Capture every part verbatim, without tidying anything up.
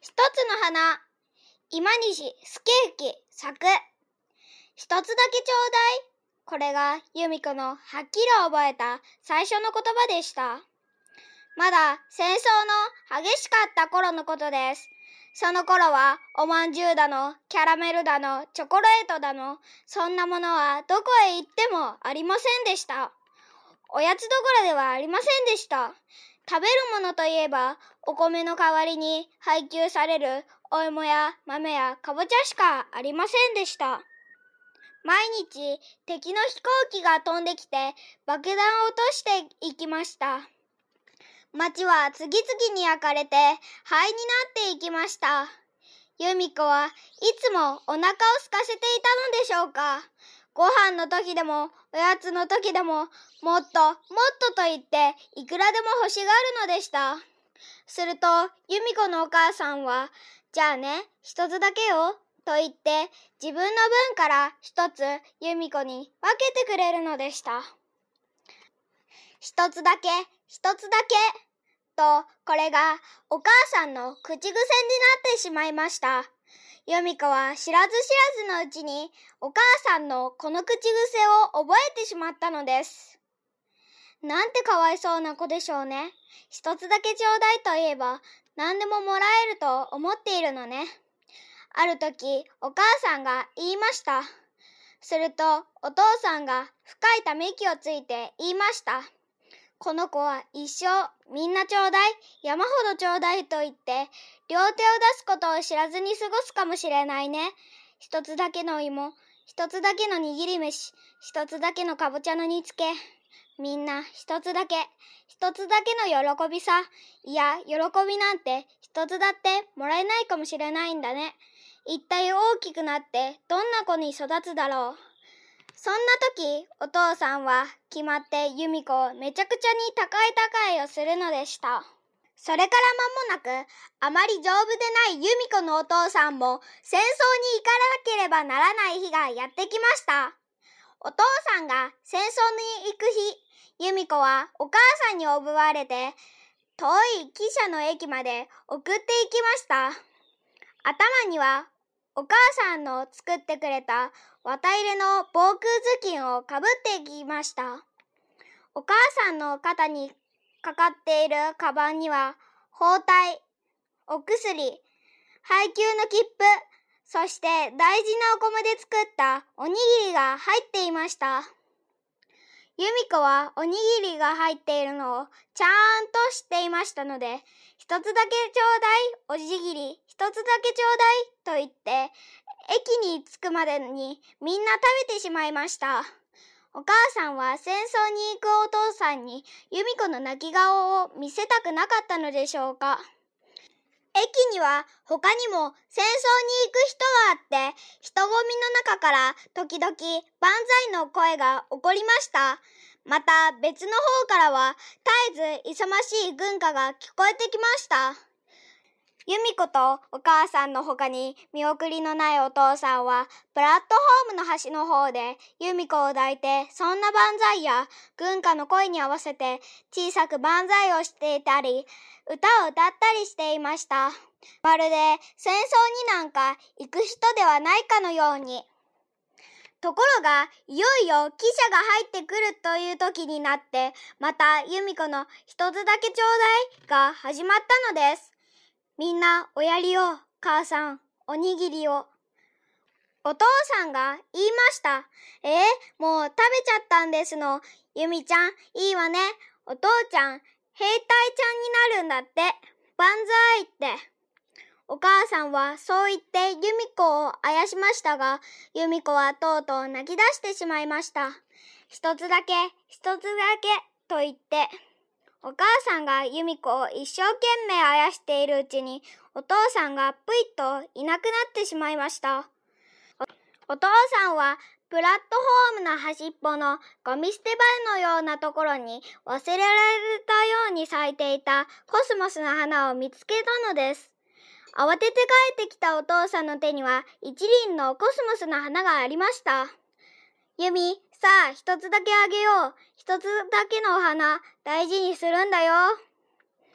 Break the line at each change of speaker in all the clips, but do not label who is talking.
一つの花、今西助之作。一つだけちょうだい。これが由美子のはっきり覚えた最初の言葉でした。まだ戦争の激しかった頃のことです。その頃はおまんじゅうだの、キャラメルだの、チョコレートだの、そんなものはどこへ行ってもありませんでした。おやつどころではありませんでした。食べるものといえば、お米の代わりに配給されるお芋や豆やかぼちゃしかありませんでした。毎日敵の飛行機が飛んできて爆弾を落としていきました。街は次々に焼かれて灰になっていきました。由美子はいつもお腹を空かせていたのでしょうか。ご飯の時でもおやつの時でももっともっとと言っていくらでも欲しがるのでした。すると由美子のお母さんは、じゃあね、一つだけよと言って自分の分から一つ由美子に分けてくれるのでした。一つだけ、一つだけと、これがお母さんの口癖になってしまいました。由美子は知らず知らずのうちにお母さんのこの口癖を覚えてしまったのです。なんてかわいそうな子でしょうね。一つだけちょうだいと言えば何でももらえると思っているのね。ある時お母さんが言いました。するとお父さんが深いため息をついて言いました。この子は一生みんなちょうだい、山ほどちょうだいと言って両手を出すことを知らずに過ごすかもしれないね。一つだけの芋、一つだけの握り飯、一つだけのかぼちゃの煮付け。みんな一つだけ、一つだけの喜びさ。いや、喜びなんて一つだってもらえないかもしれないんだね。一体大きくなってどんな子に育つだろう。そんな時、お父さんは決まって由美子をめちゃくちゃに高い高いをするのでした。それから間もなく、あまり丈夫でない由美子のお父さんも戦争に行かなければならない日がやってきました。お父さんが戦争に行く日、由美子はお母さんにおぶわれて、遠い汽車の駅まで送っていきました。頭にはお母さんの作ってくれた綿入れの防空頭巾をかぶっていきました。お母さんの肩にかかっているカバンには包帯、お薬、配給の切符、そして大事なお米で作ったおにぎりが入っていました。由美子はおにぎりが入っているのをちゃんと知っていましたので、一つだけちょうだい、おじぎり、一つだけちょうだいと言って、駅に着くまでにみんな食べてしまいました。お母さんは戦争に行くお父さんに由美子の泣き顔を見せたくなかったのでしょうか。駅には他にも戦争に行く人があって、人混みの中から時々万歳の声が起こりました。また別の方からは絶えず勇ましい軍歌が聞こえてきました。由美子とお母さんの他に見送りのないお父さんはプラットホームの端の方で由美子を抱いて、そんな万歳や軍歌の声に合わせて小さく万歳をしていたり、歌を歌ったりしていました。まるで戦争になんか行く人ではないかのように。ところがいよいよ汽車が入ってくるという時になって、また由美子の一つだけちょうだいが始まったのです。みんなおやりを、母さん、おにぎりを。お父さんが言いました。えー、もう食べちゃったんですの。由美ちゃん、いいわね。お父ちゃん、兵隊ちゃんになるんだって。万歳って。お母さんはそう言って由美子をあやしましたが、由美子はとうとう泣き出してしまいました。一つだけ、一つだけ、と言って。お母さんが由美子を一生懸命あやしているうちに、お父さんがぷいっといなくなってしまいました。お、お父さんはプラットホームの端っぽのゴミ捨て場のようなところに忘れられたように咲いていたコスモスの花を見つけたのです。慌てて帰ってきたお父さんの手には一輪のコスモスの花がありました。由美、さあ一つだけあげよう。一つだけのお花、大事にするんだよ。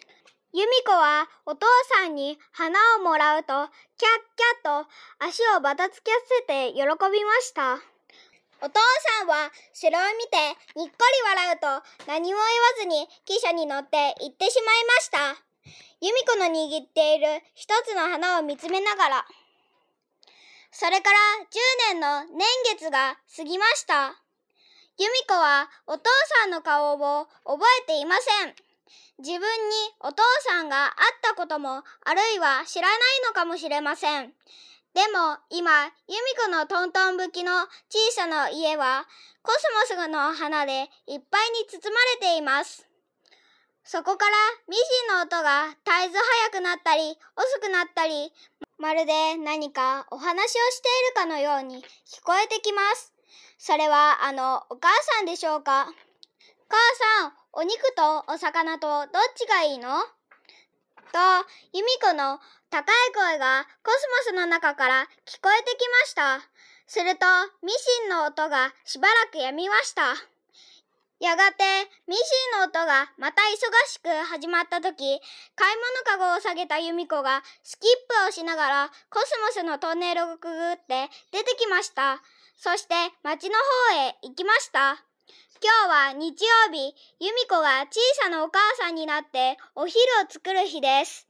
由美子はお父さんに花をもらうと、キャッキャッと足をばたつきせて喜びました。お父さんはそれを見てにっこり笑うと、何も言わずに汽車に乗って行ってしまいました。由美子の握っている一つの花を見つめながら。それからじゅうねんの年月が過ぎました。由美子はお父さんの顔を覚えていません。自分にお父さんが会ったことも、あるいは知らないのかもしれません。でも今、由美子のトントン吹きの小さな家は、コスモスの花でいっぱいに包まれています。そこからミシンの音が絶えず速くなったり、遅くなったり、まるで何かお話をしているかのように聞こえてきます。それはあのお母さんでしょうか。母さん、お肉とお魚とどっちがいいの？と、由美子の高い声がコスモスの中から聞こえてきました。すると、ミシンの音がしばらくやみました。やがて、ミシンの音がまた忙しく始まったとき、買い物かごを下げた由美子がスキップをしながらコスモスのトンネルをくぐって出てきました。そして町の方へ行きました。今日は日曜日、由美子が小さなお母さんになってお昼を作る日です。